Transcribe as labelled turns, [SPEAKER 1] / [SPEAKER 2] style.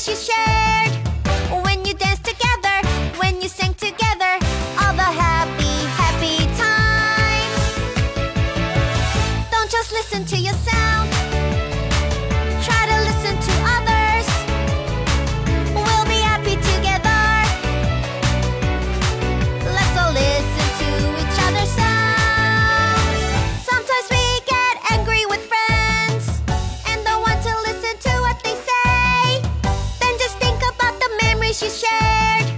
[SPEAKER 1] memories you shared. When you danced together, when you sang together, all the happy, happy times. Don't just listen to your sound. Try to listen to others. We'll be happy together. Let's all listen to each other's sounds. Sometimes we get angry with friends and don't want to listen to what they say. Then just think about the memories you shared.